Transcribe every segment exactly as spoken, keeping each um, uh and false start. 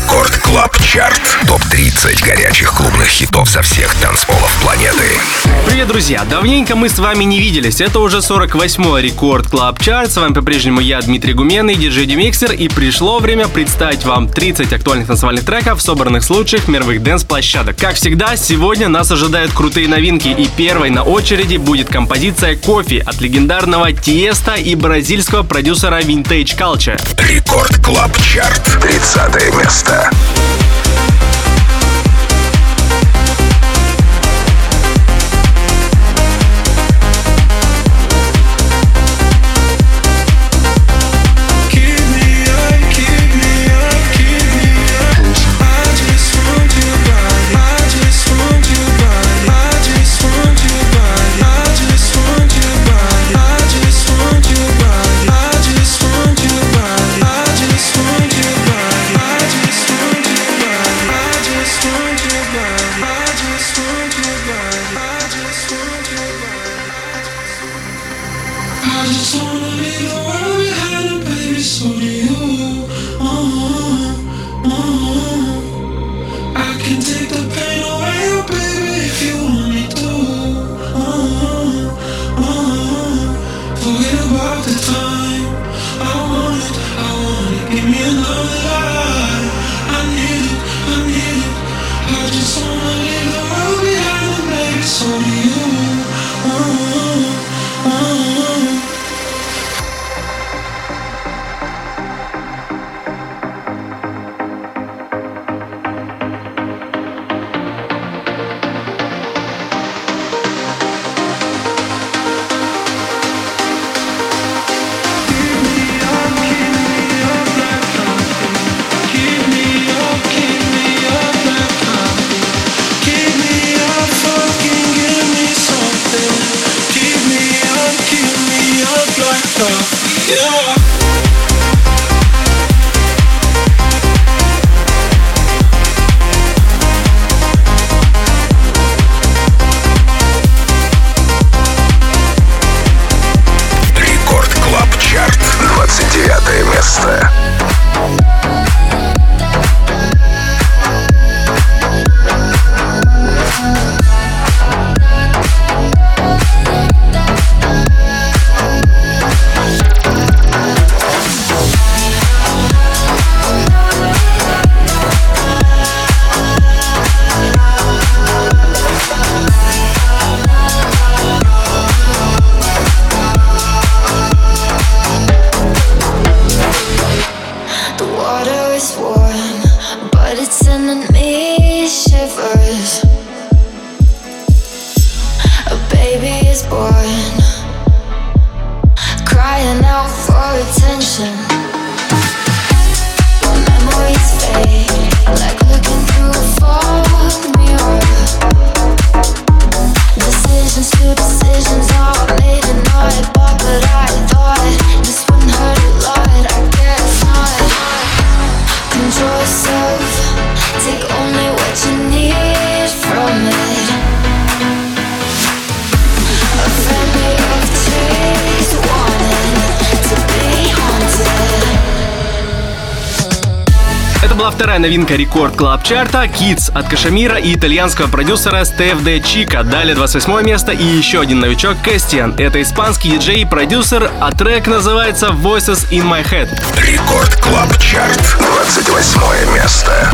Рекорд Клаб Чарт. топ тридцать горячих клубных хитов со всех танцполов планеты. Привет, друзья! Давненько мы с вами не виделись. Это уже сорок восьмой Рекорд Клаб Чарт. С вами по-прежнему я, Дмитрий Гуменный, диджей Демиксер. И пришло время представить вам тридцать актуальных танцевальных треков, собранных с лучших мировых дэнс-площадок. Как всегда, сегодня нас ожидают крутые новинки. И первой на очереди будет композиция «Кофе» от легендарного Тиеста и бразильского продюсера Vintage Culture. Рекорд Клаб Чарт. тридцатое место. Вторая новинка Рекорд Клаб Чарта Kids от Кашемира и итальянского продюсера Стеф Де Чика. Далее двадцать восьмое место и еще один новичок Кэстиан. Это испанский диджей и продюсер, а трек называется Voices in My Head. Рекорд Клаб Чарт. двадцать восьмое место.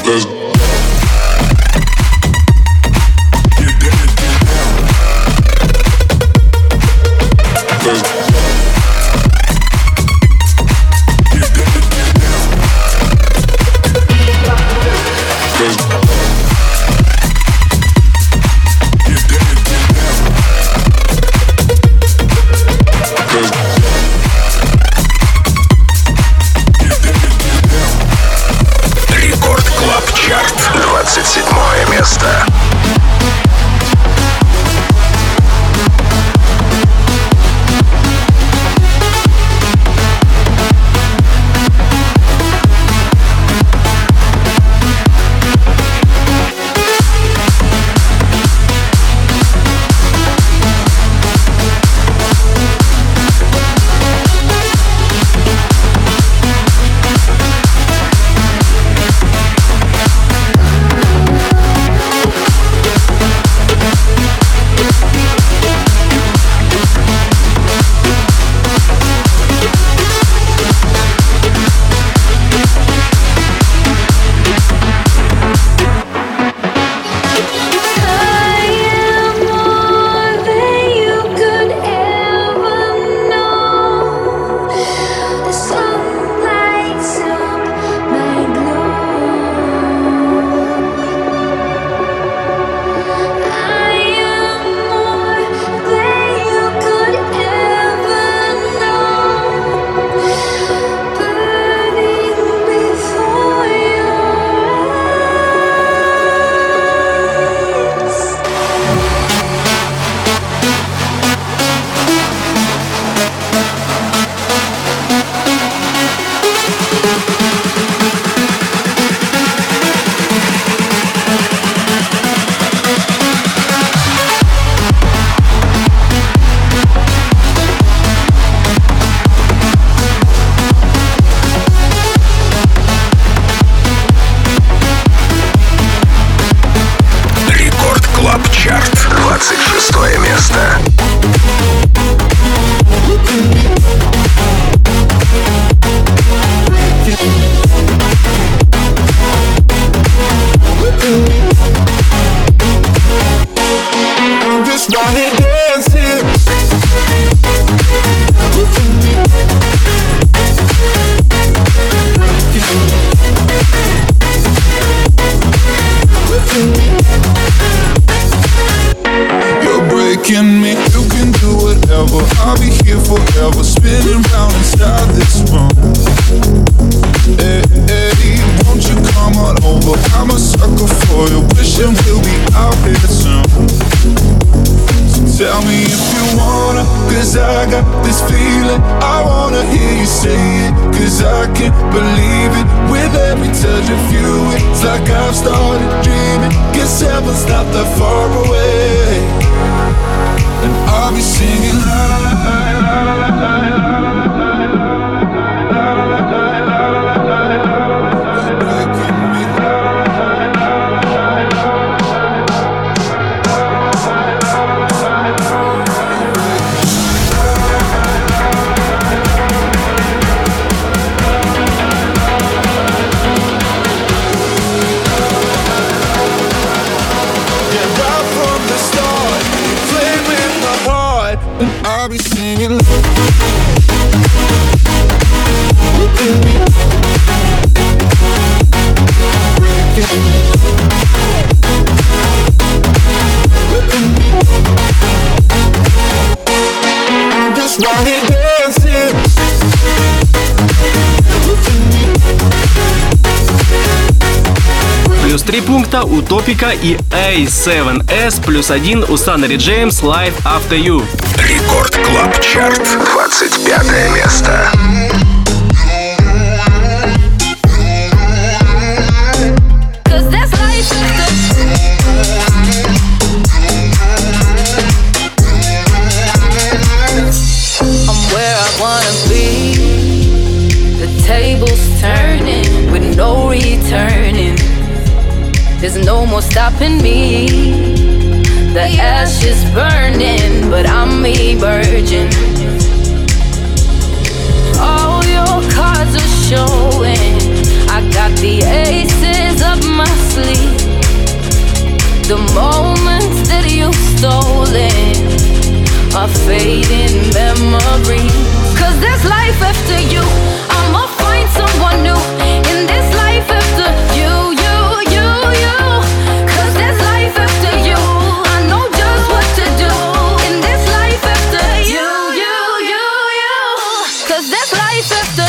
Плюс три пункта у Топика и эй семь эс, плюс один у Sunnery James Live After You. Рекорд Клаб Чарт, двадцать пятое место. There's no more stopping me. The ash is burning, but I'm emerging. All your cards are showing. I got the aces up my fading memory. Cause there's life after you. I'ma find someone new in this life after you, you, you, you. Cause there's life after you. I know just what to do in this life after you, you, you, you. Cause there's life after.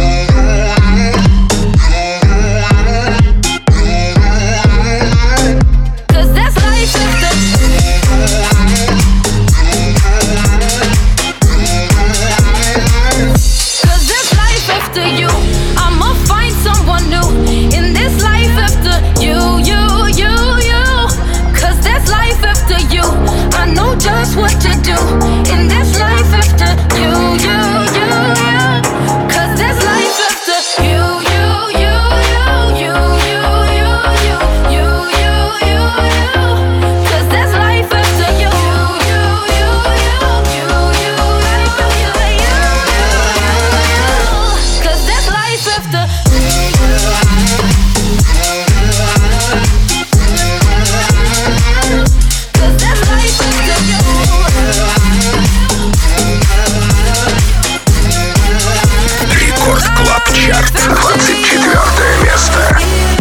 Just what to do in this life after you, you, you, you. Cause there's life after you, you, you, you, you, you, you, you, you, you, you. Cause there's life after you, you, you, you, you, you, life after you, you. Cause there's life after. Рекорд Клаб Чарт, двадцать четвёртое место.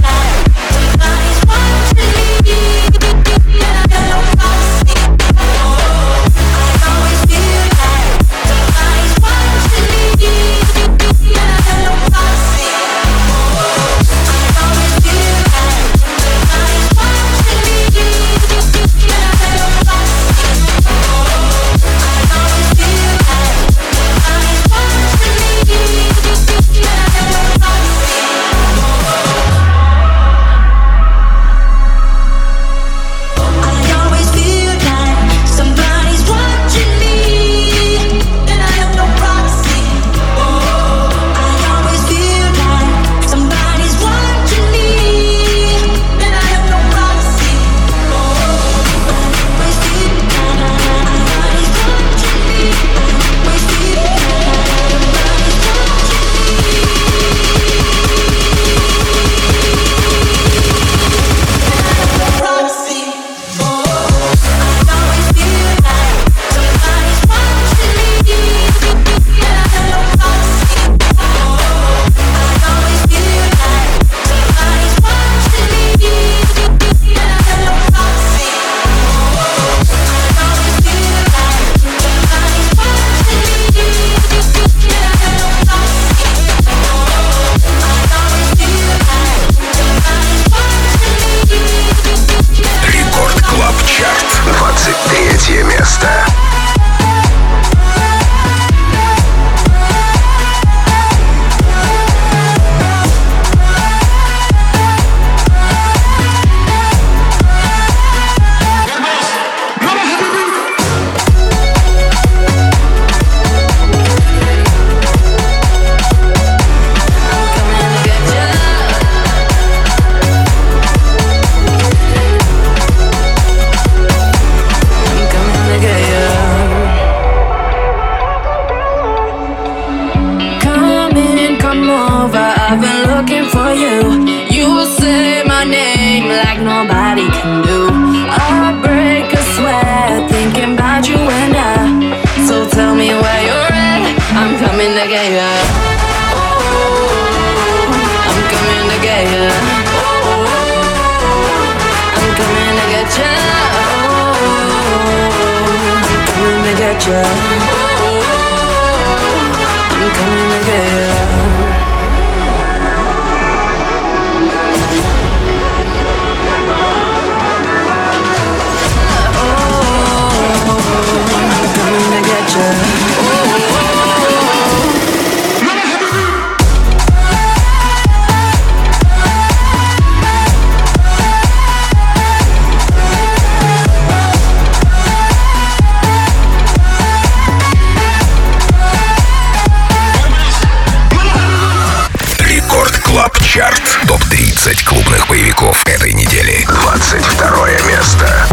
топ тридцать клубных боевиков этой недели. двадцать второе место.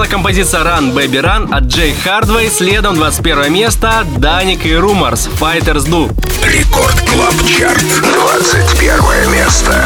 композиция Run Baby Run от Джей Хардвей. Следом двадцать первое место Даник и Rumors Fighters Do. Рекорд Клаб Чарт, двадцать первое место.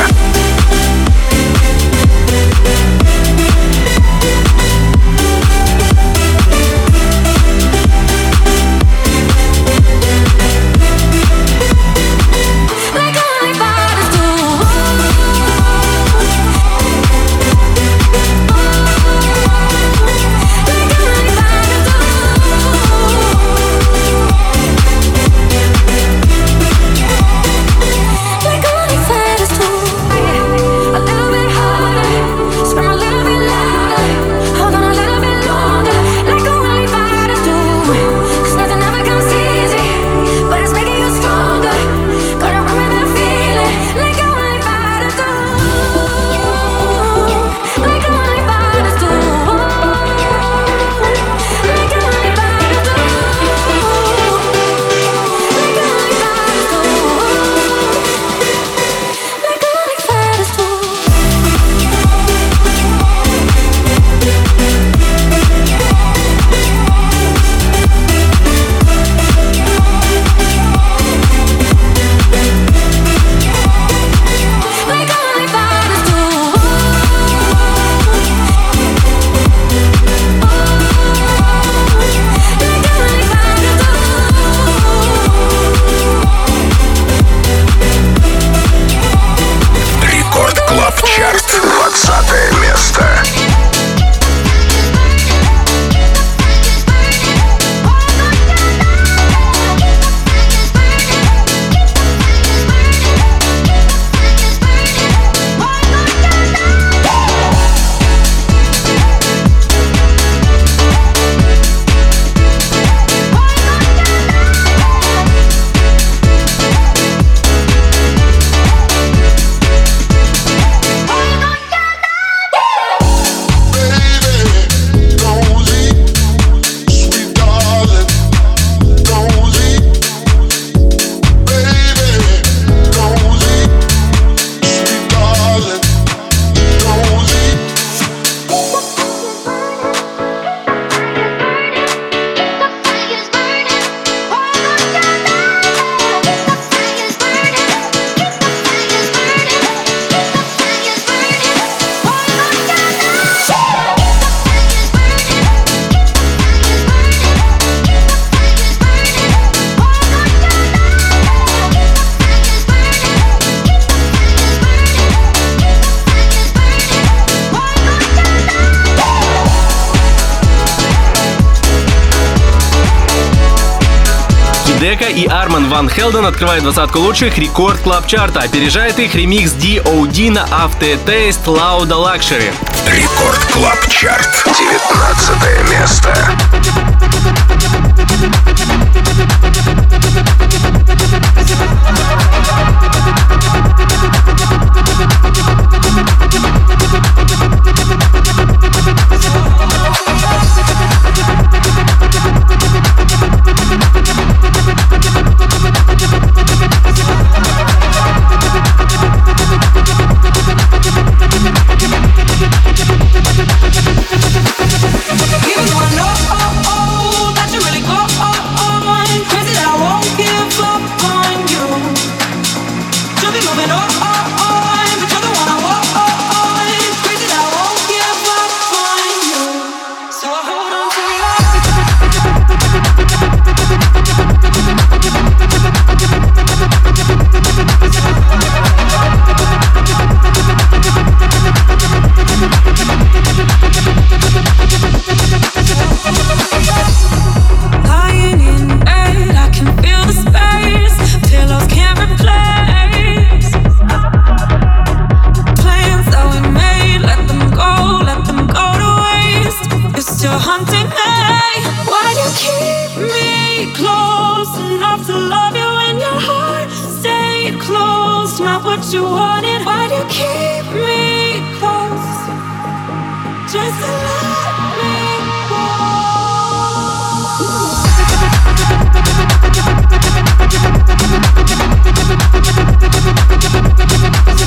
Дека и Арман Ван Хелден открывают двадцатку лучших Рекорд Клаб Чарта. Опережает их ремикс ди о ди на After Taste Lauda Luxury. Рекорд Клаб Чарт, девятнадцатое место.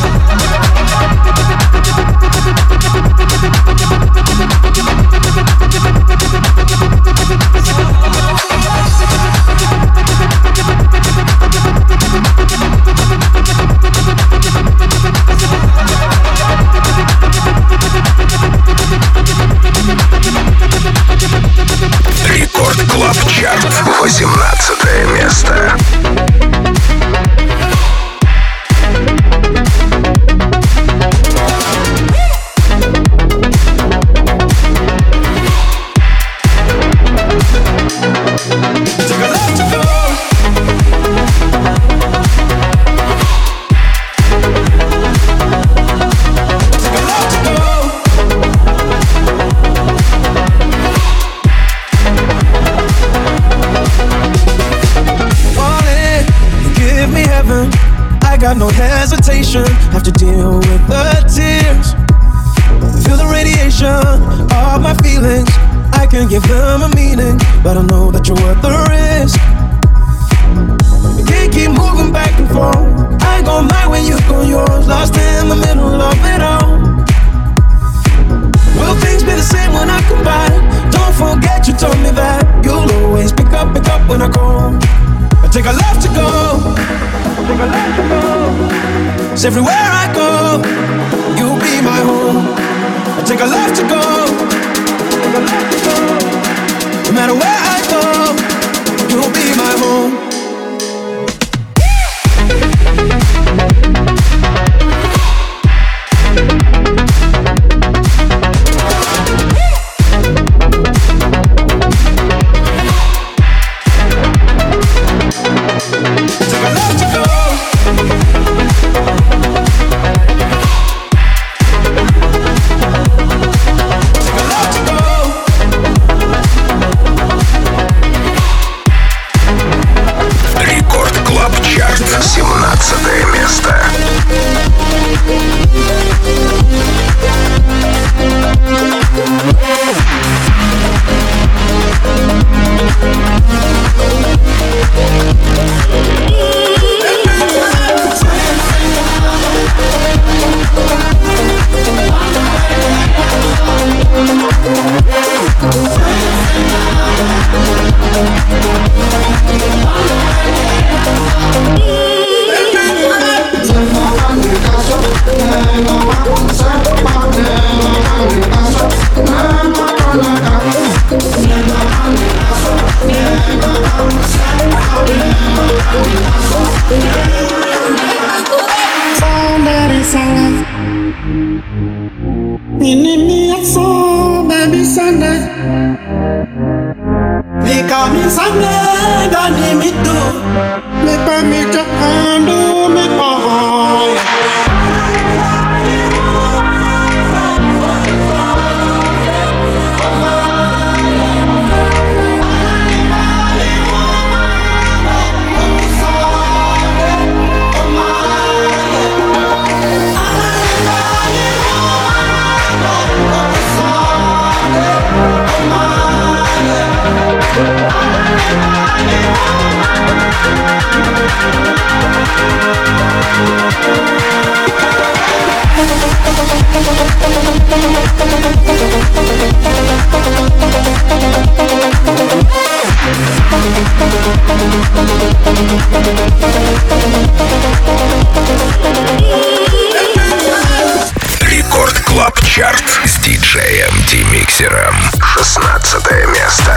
We'll be right back. Чарт, восемнадцатое место. No hesitation, have to deal with the tears. Feel the radiation of my feelings. I can give them a meaning, but I know that you're worth the risk. We can't keep moving back and forth. I go mine when you go yours, lost in the middle of it all. Will things be the same when I come back? Don't forget you told me that you'll always pick up, pick up when I call. I take a left to go. Take a left to go. 'Cause everywhere I go, you'll be my home. I take a left to go. Take a left to go. No matter where I go, you'll be my home. семнадцатое место. Рекорд Клаб Чарт с диджеем Демиксером. шестнадцатое место.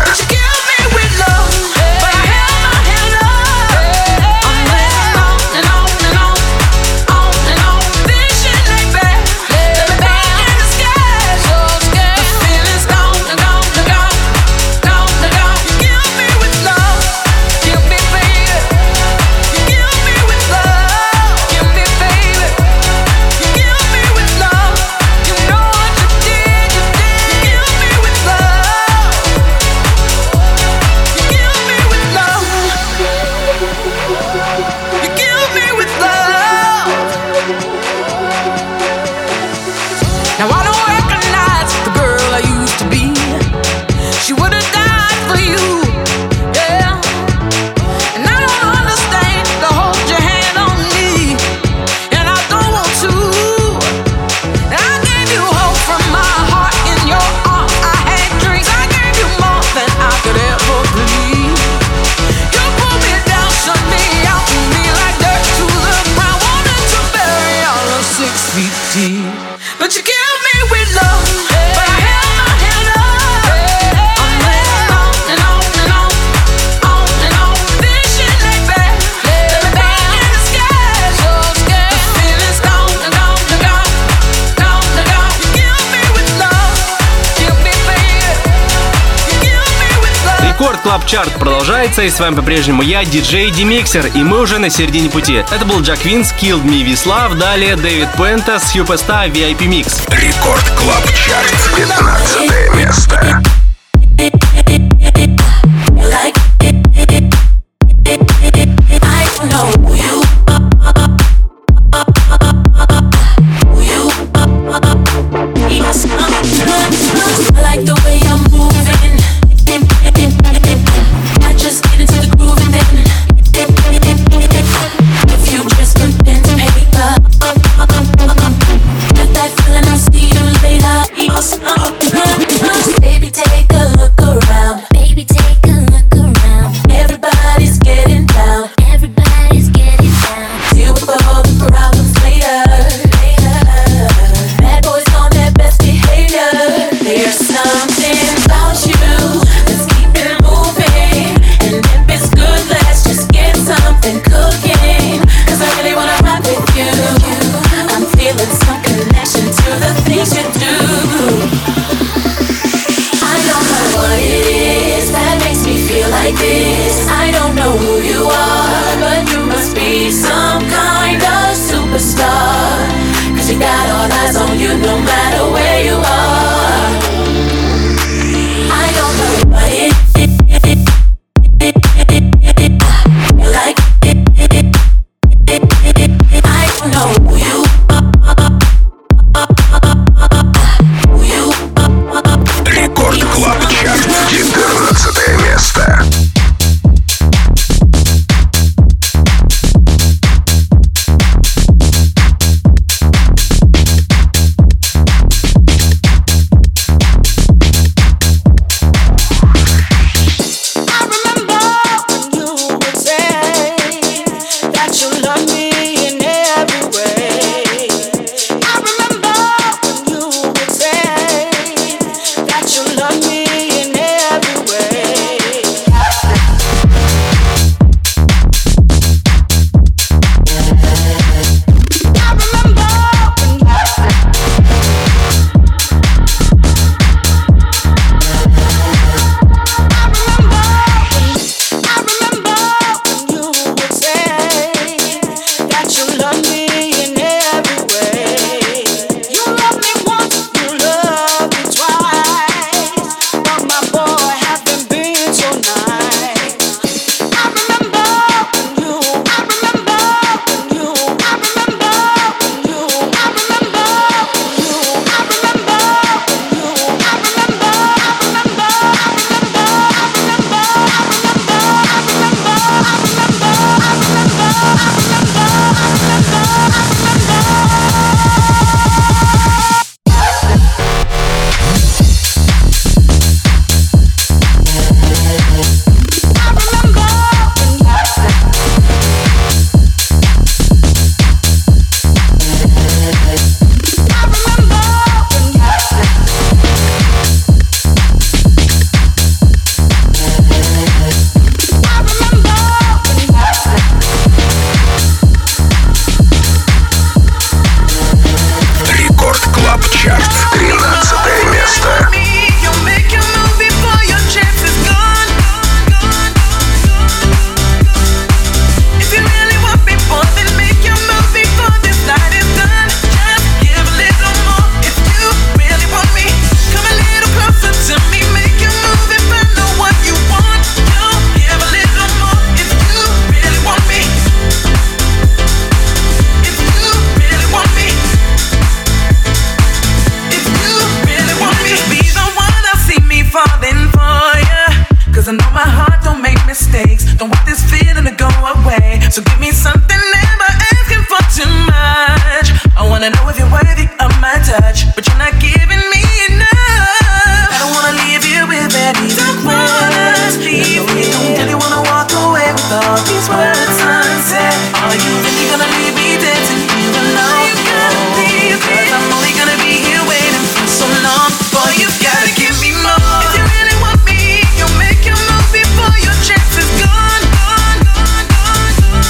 You Рекорд Клаб Чарт продолжается, и с вами по-прежнему я, диджей Демиксер, и мы уже на середине пути. Это был Jack Vince, Killed Me With Love, далее Дэвид Пуэнте, Superstar, ви ай пи Mix. Рекорд Клаб Чарт, пятнадцатое место. Baby, take a look around. Baby, take a look around. Everybody's getting down. Everybody's getting down. Deal with all the problems later. Later. Bad boys on their best behavior. There's something about you that's keeping moving. And if it's good, let's just get something cooking. Cause I really wanna rock with you. I'm feeling some connection to the things you do. What it is that makes me feel like this. I don't know who you are, but you must be some kind of superstar. Cause you got all eyes on you no matter where you are. I don't know what it is. You like it. I don't know who you are. Who you are. Рекорд Клаб Чарт, четырнадцатое место.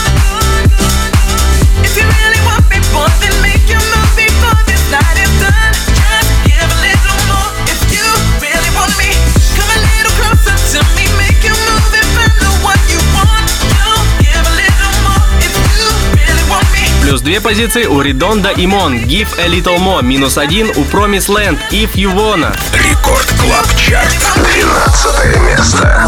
Night is done. Минус две позиции у Редонда и Mon. Give a Little More. Минус один у Promise Land. If You Wanna. Рекорд Клаб Чарт. двенадцатое место.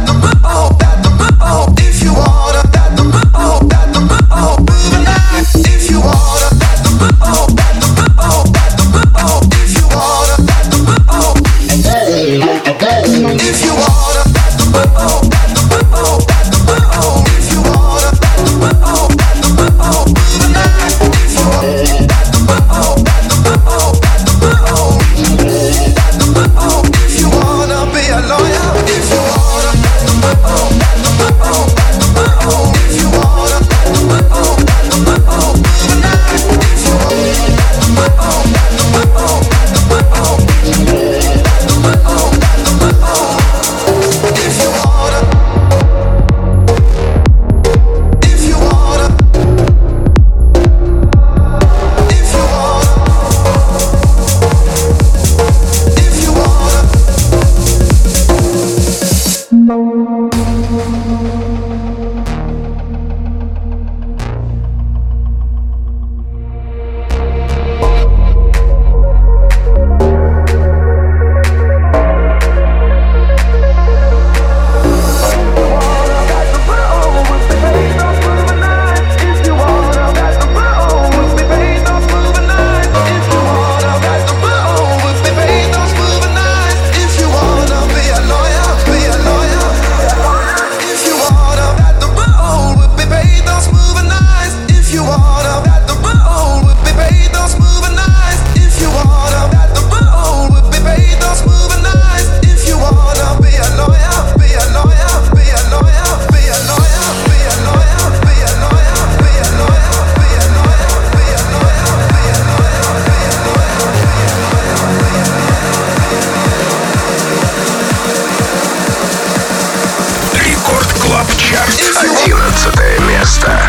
одиннадцатое место.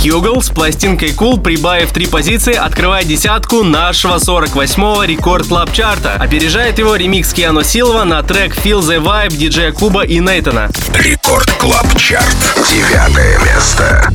Хьюгл с пластинкой Cool, прибавив три позиции, открывает десятку нашего сорок восьмого рекорд клаб чарта. Опережает его ремикс Киано Силва на трек Feel the Vibe диджея Куба и Нейтана. Рекорд Клаб Чарт. Девятое место.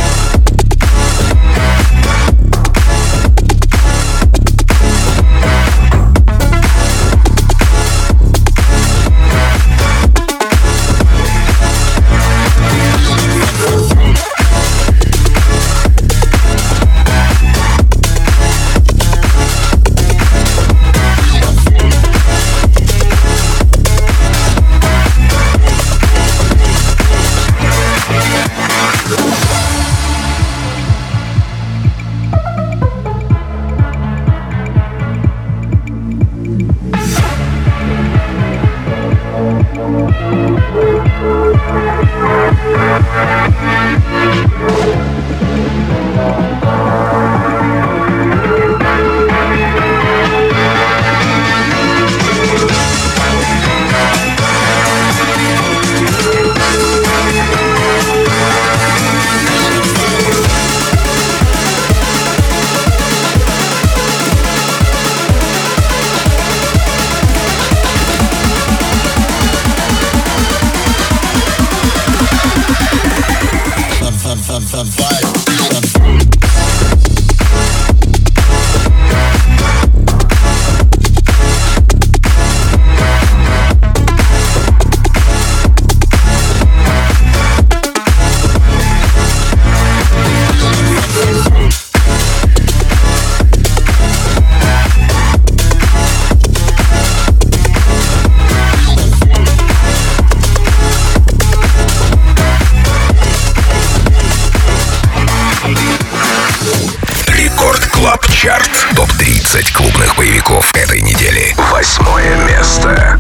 Чарт. топ тридцать клубных боевиков этой недели. Восьмое место.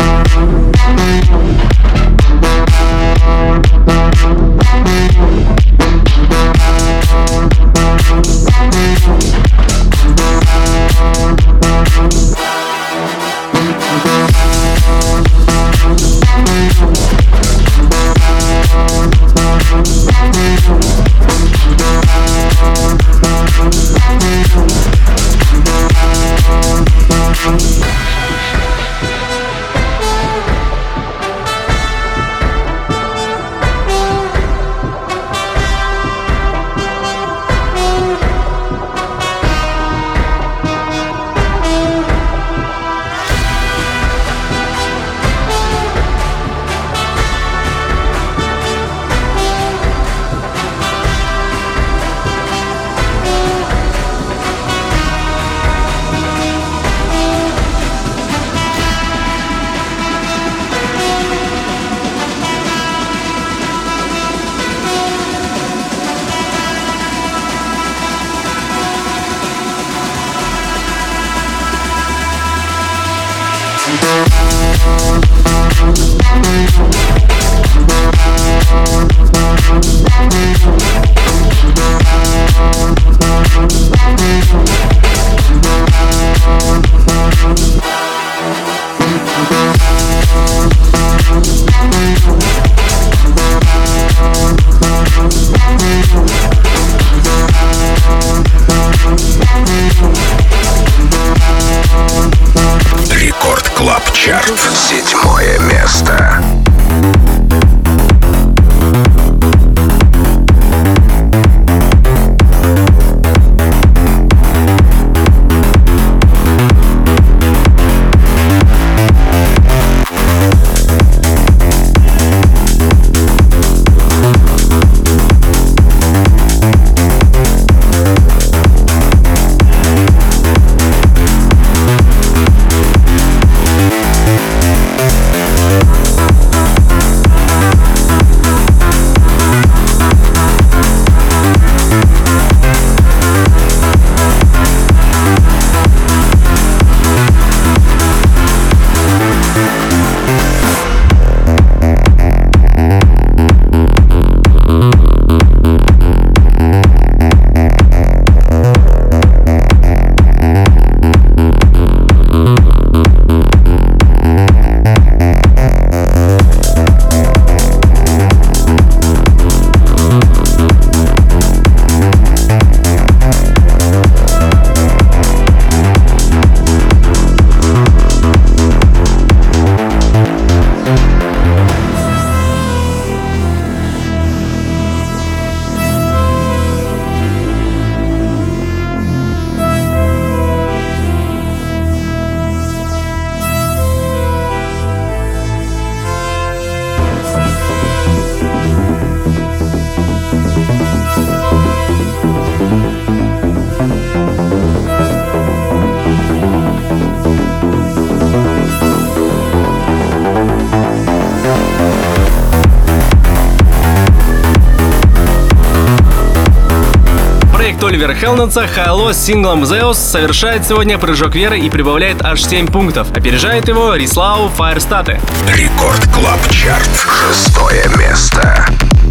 Оливера Хелденса «Хайло» с синглом «Zeus» совершает сегодня прыжок веры и прибавляет аж семь пунктов. Опережает его Рислау «Фаерстаты». Рекорд Клаб Чарт. Шестое место.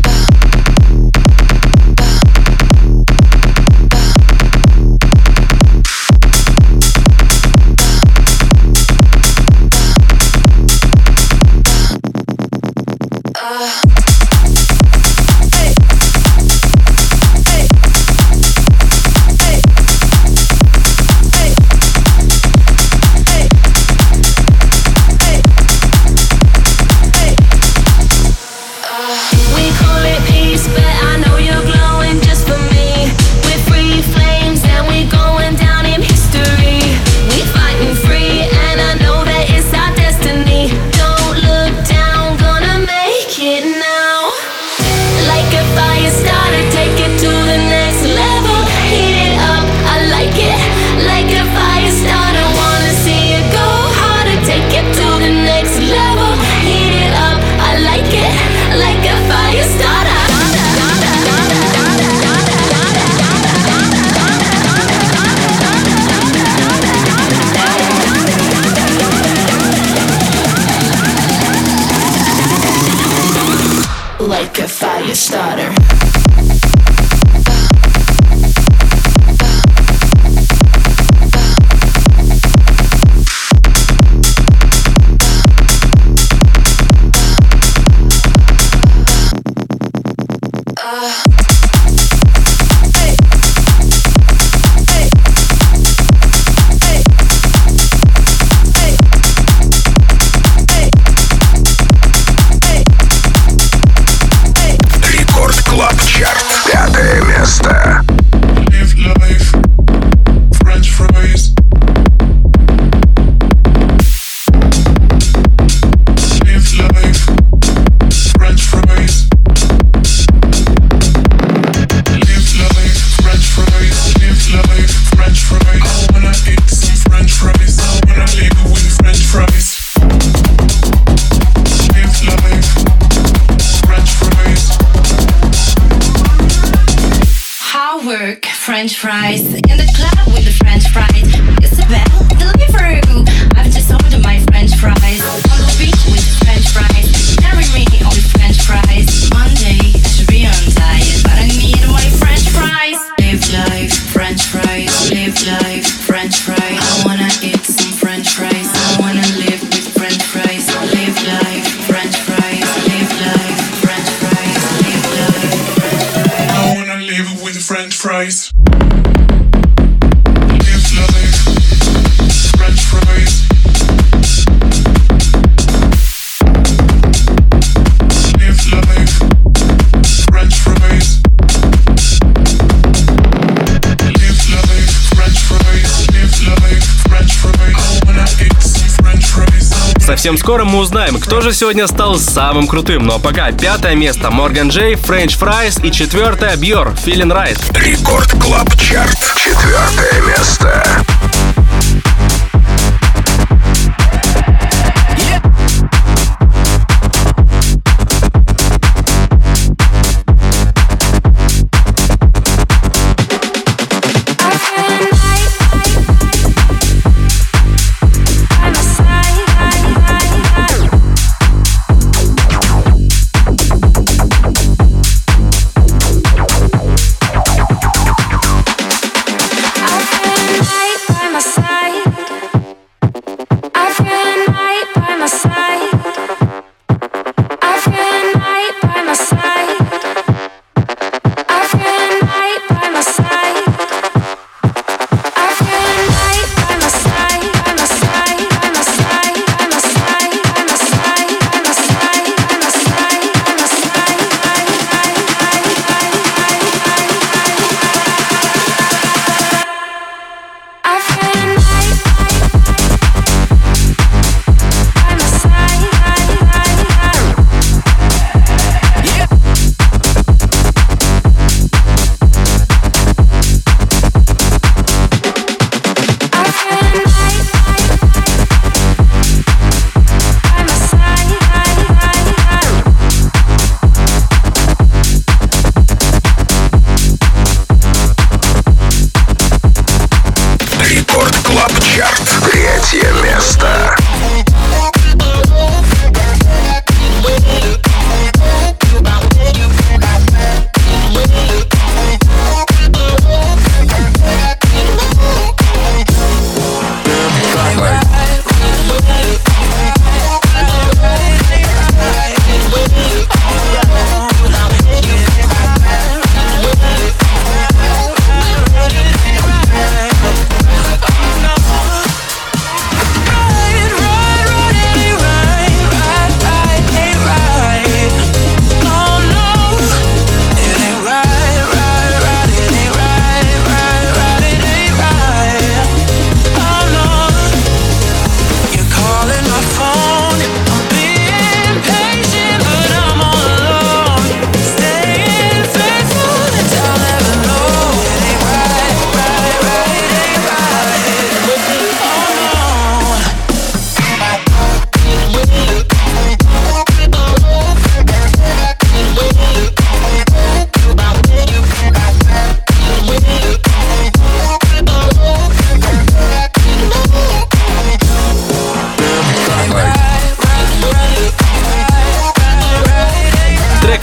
Like a fire starter. Пятое место. Live life, French fries. Live life, French fries. Live life, French fries. Live life, French fries. I wanna eat some French fries. I wanna live with French fries. Live life, French fries. How work French fries in the club with the French fries. Isabel, Deliveroo. I've just ordered my French fries. On the beach with the French fries. Marry me on the French fries. Monday I should be on diet, but I need my French fries. Live life, French fries. Live life, French fries. I wanna eat some French fries. I wanna live with French fries. Live life, French fries. Live life, French fries. Live life, French fries. I wanna live with French fries. Live life, French fries. Live life, French fries. Live life, French fries. Live life, French fries. I wanna eat some French fries. Совсем скоро мы узнаем, кто же сегодня стал самым крутым. Но пока пятое место Морган Джей, French Fries и четвертое Бьор, Feeling Right. Рекорд Клаб Чарт. Четвертое место. By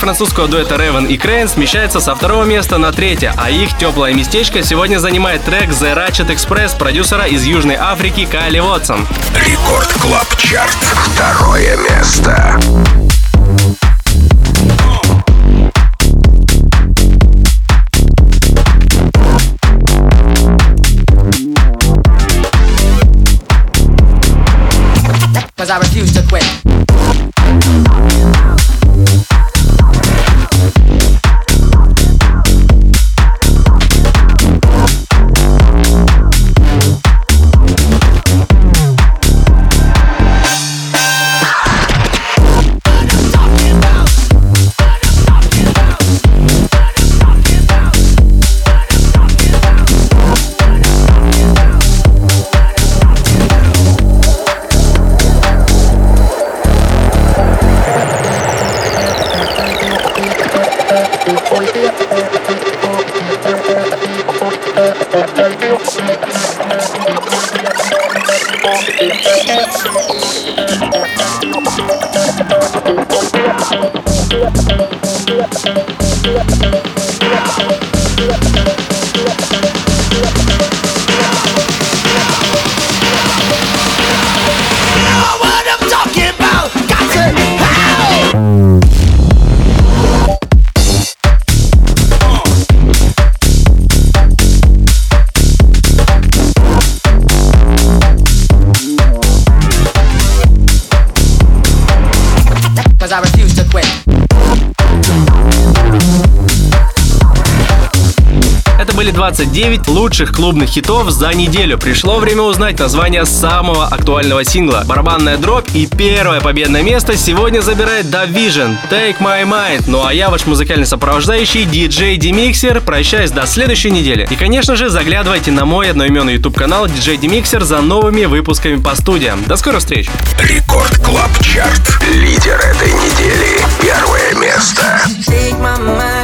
французского дуэта Raven и Crane смещается со второго места на третье, а их теплое местечко сегодня занимает трек The Ratchet Express продюсера из Южной Африки Кайли Уотсон. Рекорд Клаб Чарт. Второе место. Cause I refuse to quit. I refuse to quit. Это были двадцать девять лучших клубных хитов за неделю. Пришло время узнать название самого актуального сингла. Барабанная дробь и первое победное место сегодня забирает Da Vision, Take My Mind. Ну а я, ваш музыкальный сопровождающий, диджей Demixer, прощаюсь до следующей недели. И, конечно же, заглядывайте на мой одноименный YouTube-канал диджей Demixer за новыми выпусками по студиям. До скорых встреч! Рекорд Клаб Чарт. Лидер этой недели. Первое место. Take my mind.